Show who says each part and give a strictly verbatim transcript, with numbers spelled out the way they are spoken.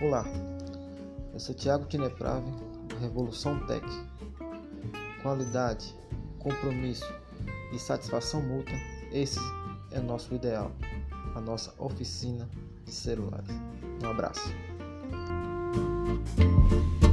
Speaker 1: Olá, eu sou Thiago Tineprave, do Revolução Tech. Qualidade, compromisso e satisfação mútua, esse é o nosso ideal, a nossa oficina de celulares. Um abraço.